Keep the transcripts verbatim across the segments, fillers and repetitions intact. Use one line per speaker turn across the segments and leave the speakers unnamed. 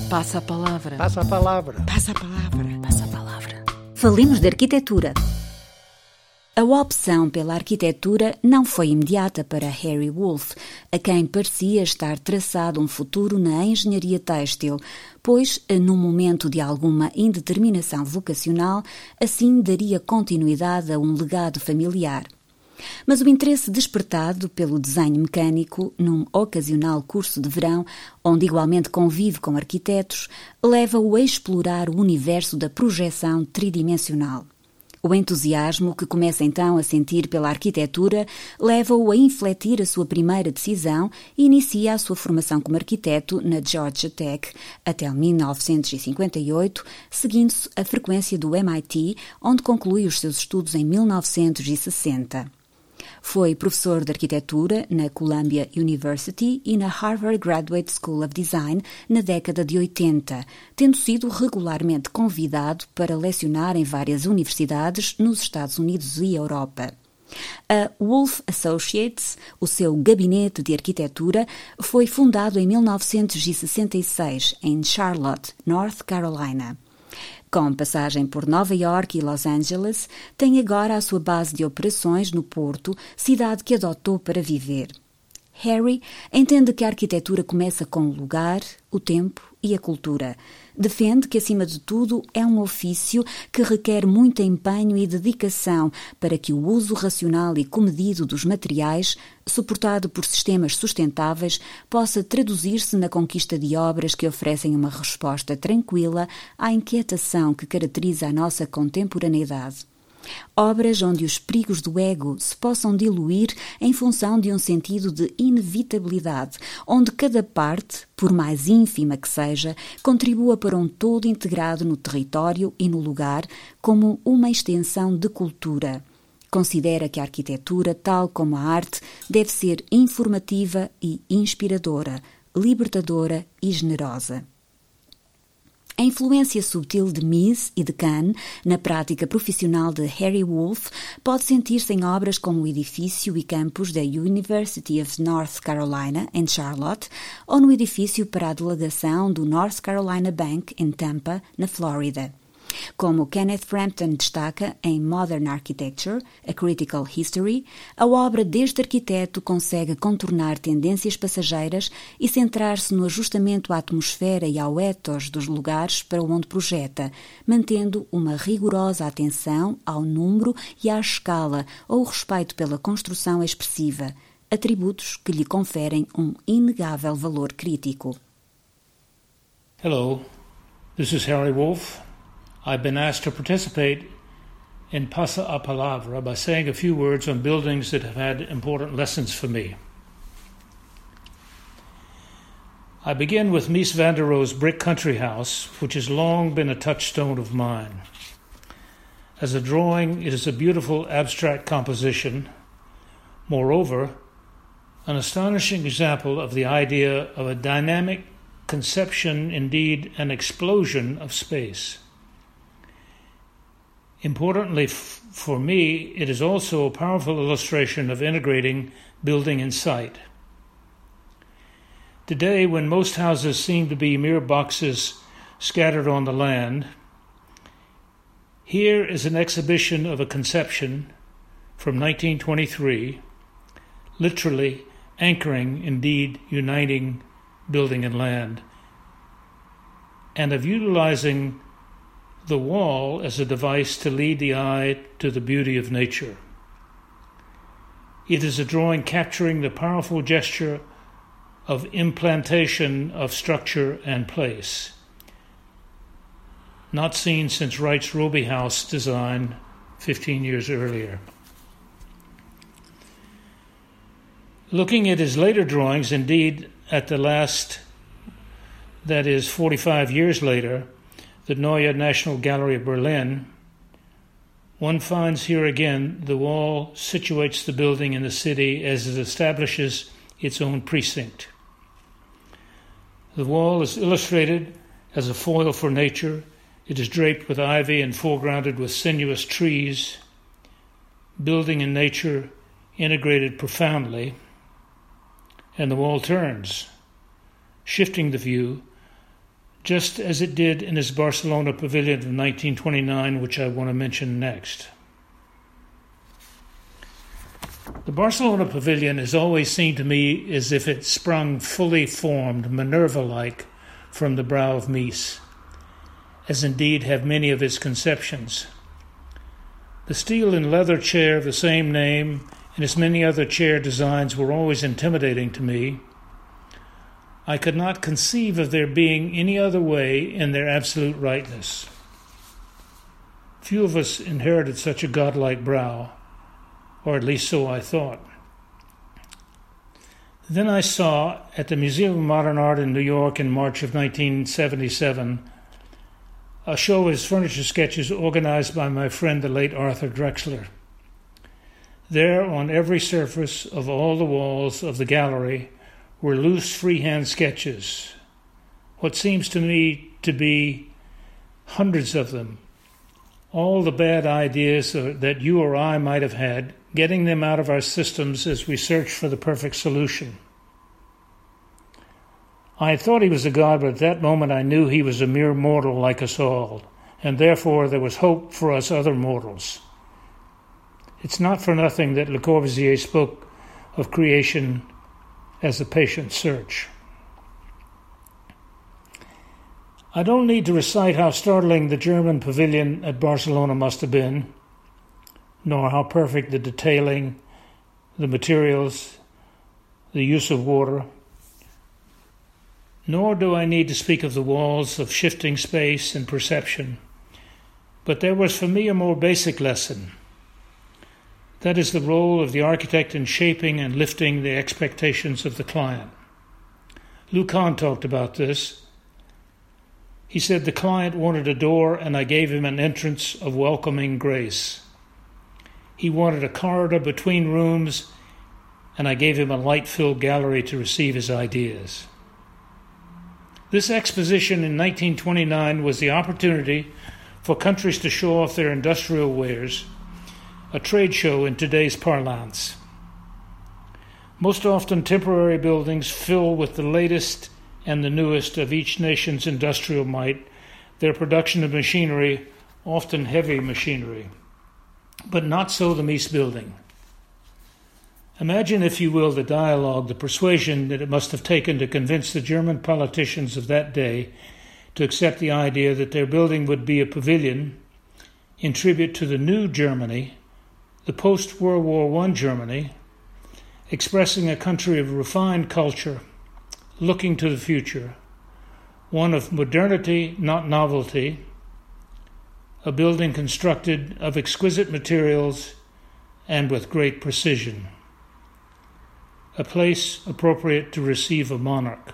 Passa a palavra.
Passa a palavra.
Passa a palavra. Passa a palavra.
Falemos de arquitetura. A opção pela arquitetura não foi imediata para Harry Wolff, a quem parecia estar traçado um futuro na engenharia têxtil, pois, num momento de alguma indeterminação vocacional, assim daria continuidade a um legado familiar. Mas o interesse despertado pelo desenho mecânico, num ocasional curso de verão, onde igualmente convive com arquitetos, leva-o a explorar o universo da projeção tridimensional. O entusiasmo que começa então a sentir pela arquitetura leva-o a infletir a sua primeira decisão e inicia a sua formação como arquiteto na Georgia Tech até mil novecentos e cinquenta e oito, seguindo-se a frequência do M I T, onde conclui os seus estudos em mil novecentos e sessenta. Foi professor de arquitetura na Columbia University e na Harvard Graduate School of Design na década de oitenta, tendo sido regularmente convidado para lecionar em várias universidades nos Estados Unidos e Europa. A Wolff Associates, o seu gabinete de arquitetura, foi fundado em mil novecentos e sessenta e seis em Charlotte, North Carolina. Com passagem por Nova York e Los Angeles, tem agora a sua base de operações no Porto, cidade que adotou para viver. Harry entende que a arquitetura começa com o lugar, o tempo e a cultura. Defende que, acima de tudo, é um ofício que requer muito empenho e dedicação para que o uso racional e comedido dos materiais, suportado por sistemas sustentáveis, possa traduzir-se na conquista de obras que oferecem uma resposta tranquila à inquietação que caracteriza a nossa contemporaneidade. Obras onde os perigos do ego se possam diluir em função de um sentido de inevitabilidade, onde cada parte, por mais ínfima que seja, contribua para um todo integrado no território e no lugar como uma extensão de cultura. Considera que a arquitetura, tal como a arte, deve ser informativa e inspiradora, libertadora e generosa. A influência subtil de Mies e de Kahn na prática profissional de Harry Wolff pode sentir-se em obras como o edifício e campus da University of North Carolina, em Charlotte, ou no edifício para a delegação do North Carolina Bank, em Tampa, na Flórida. Como Kenneth Frampton destaca em Modern Architecture, A Critical History, a obra deste arquiteto consegue contornar tendências passageiras e centrar-se no ajustamento à atmosfera e ao ethos dos lugares para onde projeta, mantendo uma rigorosa atenção ao número e à escala ou o respeito pela construção expressiva, atributos que lhe conferem um inegável valor crítico.
Hello, this is Harry Wolff. I've been asked to participate in Passa a Palavra by saying a few words on buildings that have had important lessons for me. I begin with Mies van der Rohe's brick country house, which has long been a touchstone of mine. As a drawing, it is a beautiful abstract composition. Moreover, an astonishing example of the idea of a dynamic conception, indeed an explosion of space. Importantly f- for me, it is also a powerful illustration of integrating building and site. Today, when most houses seem to be mere boxes scattered on the land, here is an exhibition of a conception from nineteen twenty-three, literally anchoring, indeed uniting building and land, and of utilizing the wall as a device to lead the eye to the beauty of nature. It is a drawing capturing the powerful gesture of implantation of structure and place, not seen since Wright's Roby House design fifteen years earlier. Looking at his later drawings, indeed at the last, that is forty-five years later, the Neue National Gallery of Berlin, one finds here again the wall situates the building in the city as it establishes its own precinct. The wall is illustrated as a foil for nature. It is draped with ivy and foregrounded with sinuous trees, building and nature integrated profoundly, and the wall turns, shifting the view just as it did in his Barcelona pavilion of nineteen twenty-nine, which I want to mention next. The Barcelona pavilion has always seemed to me as if it sprung fully formed, Minerva-like, from the brow of Mies, as indeed have many of its conceptions. The steel and leather chair of the same name and as many other chair designs were always intimidating to me. I could not conceive of there being any other way in their absolute rightness. Few of us inherited such a godlike brow, or at least so I thought. Then I saw, at the Museum of Modern Art in New York in March of nineteen seventy-seven, a show of his furniture sketches organized by my friend the late Arthur Drexler. There, on every surface of all the walls of the gallery, were loose freehand sketches, what seems to me to be hundreds of them, all the bad ideas that you or I might have had, getting them out of our systems as we search for the perfect solution. I had thought he was a god, but at that moment I knew he was a mere mortal like us all, and therefore there was hope for us other mortals. It's not for nothing that Le Corbusier spoke of creation as a patient search. I don't need to recite how startling the German pavilion at Barcelona must have been, nor how perfect the detailing, the materials, the use of water. Nor do I need to speak of the walls of shifting space and perception. But there was for me a more basic lesson. That is the role of the architect in shaping and lifting the expectations of the client. Lucan talked about this. He said the client wanted a door and I gave him an entrance of welcoming grace. He wanted a corridor between rooms and I gave him a light-filled gallery to receive his ideas. This exposition in nineteen twenty-nine was the opportunity for countries to show off their industrial wares, a trade show in today's parlance. Most often temporary buildings fill with the latest and the newest of each nation's industrial might, their production of machinery, often heavy machinery. But not so the Mies building. Imagine, if you will, the dialogue, the persuasion that it must have taken to convince the German politicians of that day to accept the idea that their building would be a pavilion in tribute to the new Germany, the post-World War One Germany, expressing a country of refined culture, looking to the future, one of modernity, not novelty, a building constructed of exquisite materials and with great precision, a place appropriate to receive a monarch.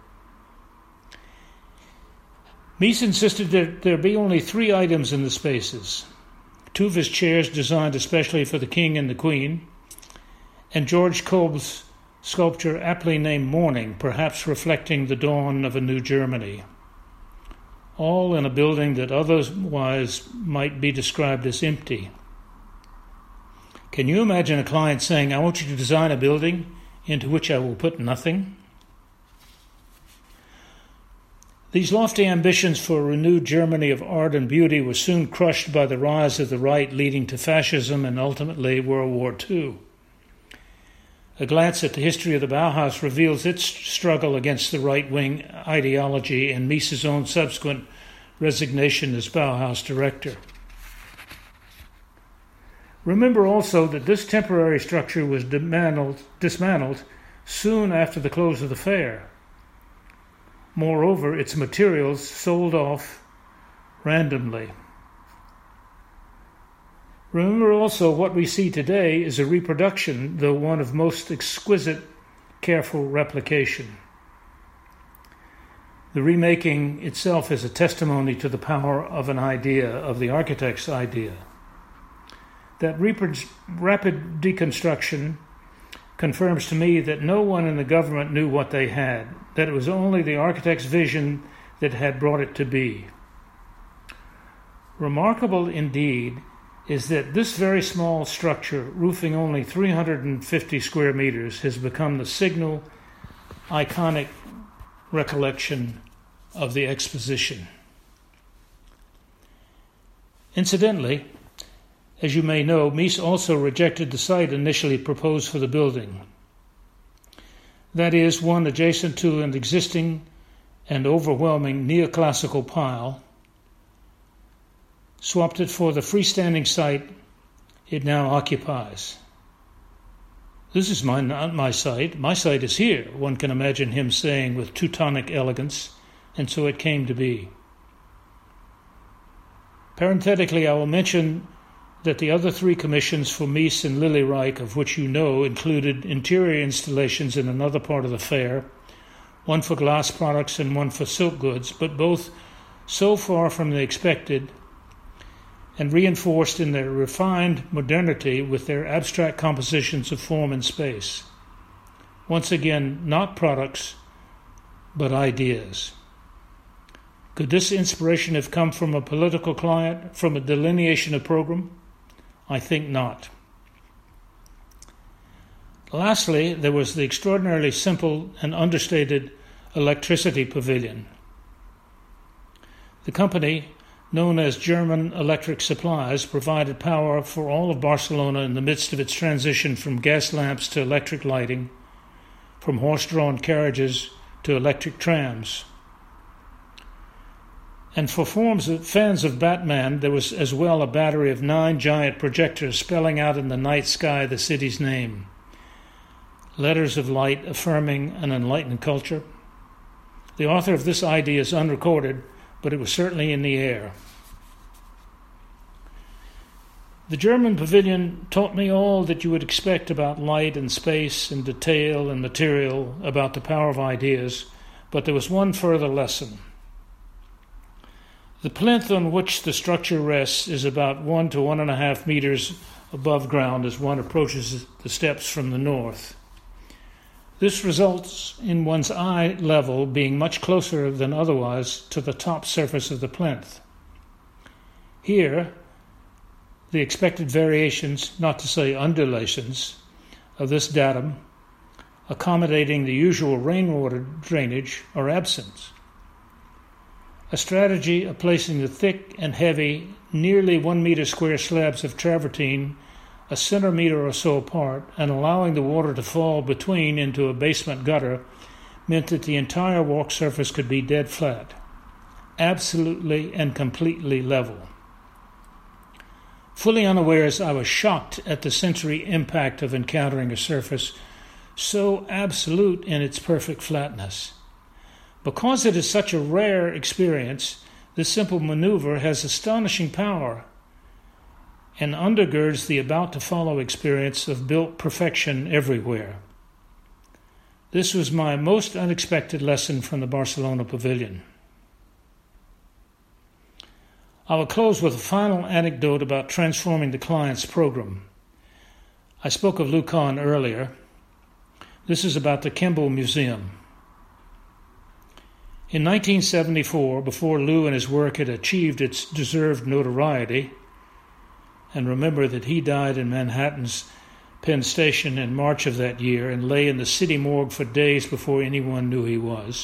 Mies insisted that there be only three items in the spaces, two of his chairs designed especially for the king and the queen, and George Kolb's sculpture aptly named Morning, perhaps reflecting the dawn of a new Germany, all in a building that otherwise might be described as empty. Can you imagine a client saying, I want you to design a building into which I will put nothing? These lofty ambitions for a renewed Germany of art and beauty were soon crushed by the rise of the right, leading to fascism and ultimately World War Two. A glance at the history of the Bauhaus reveals its struggle against the right-wing ideology and Mies's own subsequent resignation as Bauhaus director. Remember also that this temporary structure was dismantled, dismantled soon after the close of the fair. Moreover, its materials sold off randomly. Remember also what we see today is a reproduction, though one of most exquisite, careful replication. The remaking itself is a testimony to the power of an idea, of the architect's idea. That rep- rapid deconstruction confirms to me that no one in the government knew what they had, that it was only the architect's vision that had brought it to be. Remarkable indeed is that this very small structure, roofing only three hundred fifty square meters, has become the signal, iconic recollection of the exposition. Incidentally, as you may know, Mies also rejected the site initially proposed for the building. That is, one adjacent to an existing and overwhelming neoclassical pile, swapped it for the freestanding site it now occupies. This is my, not my site. My site is here, one can imagine him saying with Teutonic elegance, and so it came to be. Parenthetically, I will mention that the other three commissions for Mies and Lily Reich, of which you know, included interior installations in another part of the fair, one for glass products and one for silk goods, but both so far from the expected and reinforced in their refined modernity with their abstract compositions of form and space. Once again, not products, but ideas. Could this inspiration have come from a political client, from a delineation of program? I think not. Lastly, there was the extraordinarily simple and understated electricity pavilion. The company, known as German Electric Supplies, provided power for all of Barcelona in the midst of its transition from gas lamps to electric lighting, from horse-drawn carriages to electric trams. And for forms of, fans of Batman, there was as well a battery of nine giant projectors spelling out in the night sky the city's name. Letters of light affirming an enlightened culture. The author of this idea is unrecorded, but it was certainly in the air. The German pavilion taught me all that you would expect about light and space and detail and material, about the power of ideas, but there was one further lesson. The plinth on which the structure rests is about one to one and a half meters above ground as one approaches the steps from the north. This results in one's eye level being much closer than otherwise to the top surface of the plinth. Here, the expected variations, not to say undulations, of this datum, accommodating the usual rainwater drainage, are absent. A strategy of placing the thick and heavy, nearly one meter square slabs of travertine a centimeter or so apart and allowing the water to fall between into a basement gutter meant that the entire walk surface could be dead flat, absolutely and completely level. Fully unawares, I was shocked at the sensory impact of encountering a surface so absolute in its perfect flatness. Because it is such a rare experience, this simple maneuver has astonishing power and undergirds the about-to-follow experience of built perfection everywhere. This was my most unexpected lesson from the Barcelona Pavilion. I will close with a final anecdote about transforming the client's program. I spoke of Lou Kahn earlier. This is about the Kimball Museum. In nineteen seventy-four, before Lou and his work had achieved its deserved notoriety, and remember that he died in Manhattan's Penn Station in March of that year and lay in the city morgue for days before anyone knew he was.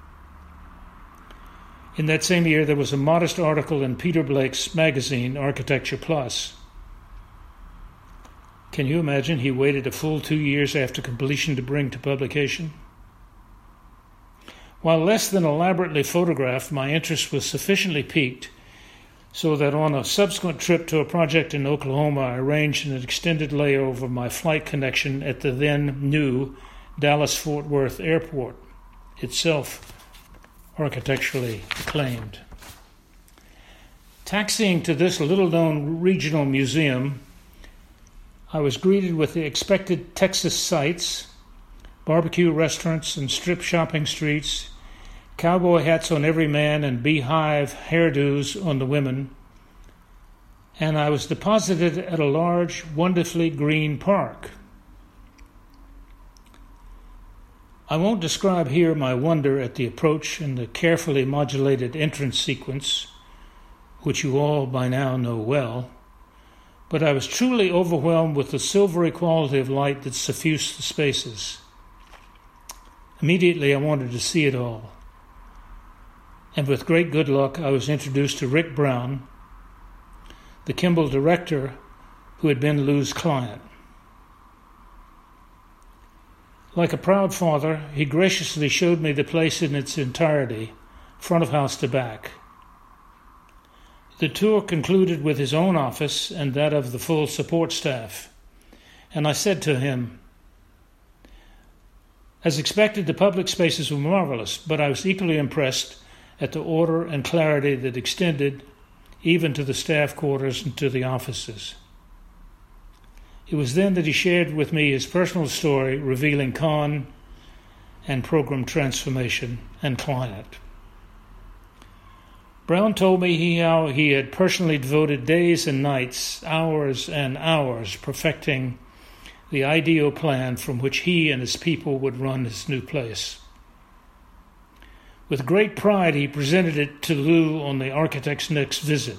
In that same year, there was a modest article in Peter Blake's magazine, Architecture Plus. Can you imagine he waited a full two years after completion to bring to publication? While less than elaborately photographed, my interest was sufficiently piqued so that on a subsequent trip to a project in Oklahoma, I arranged an extended layover of my flight connection at the then new Dallas-Fort Worth Airport, itself architecturally acclaimed. Taxiing to this little-known regional museum, I was greeted with the expected Texas sights, barbecue restaurants and strip shopping streets, cowboy hats on every man and beehive hairdos on the women, and I was deposited at a large, wonderfully green park. I won't describe here my wonder at the approach and the carefully modulated entrance sequence, which you all by now know well, but I was truly overwhelmed with the silvery quality of light that suffused the spaces. Immediately I wanted to see it all. and with great good luck I was introduced to Rick Brown, the Kimball director who had been Lou's client. Like a proud father, he graciously showed me the place in its entirety, front of house to back. The tour concluded with his own office and that of the full support staff, and I said to him, as expected, the public spaces were marvelous, but I was equally impressed at the order and clarity that extended even to the staff quarters and to the offices. It was then that he shared with me his personal story revealing Con and program transformation and client. Brown told me he, how he had personally devoted days and nights, hours and hours, perfecting the ideal plan from which he and his people would run his new place. With great pride, he presented it to Lou on the architect's next visit.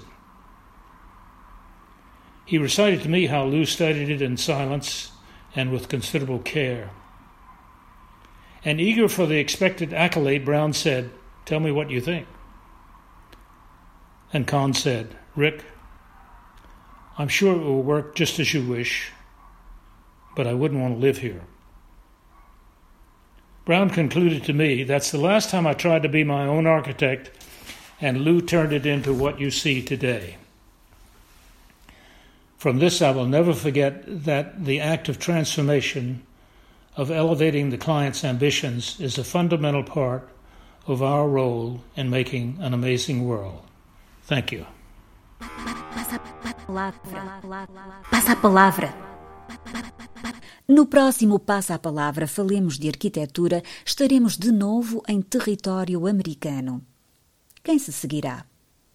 He recited to me how Lou studied it in silence and with considerable care. And eager for the expected accolade, Brown said, "Tell me what you think." And Con said, "Rick, I'm sure it will work just as you wish, but I wouldn't want to live here." Brown concluded to me, "That's the last time I tried to be my own architect, and Lou turned it into what you see today." From this, I will never forget that the act of transformation, of elevating the client's ambitions, is a fundamental part of our role in making an amazing world. Thank you.
Passa a palavra. No próximo Passa a Palavra Falemos de Arquitetura, estaremos de novo em território americano. Quem se seguirá?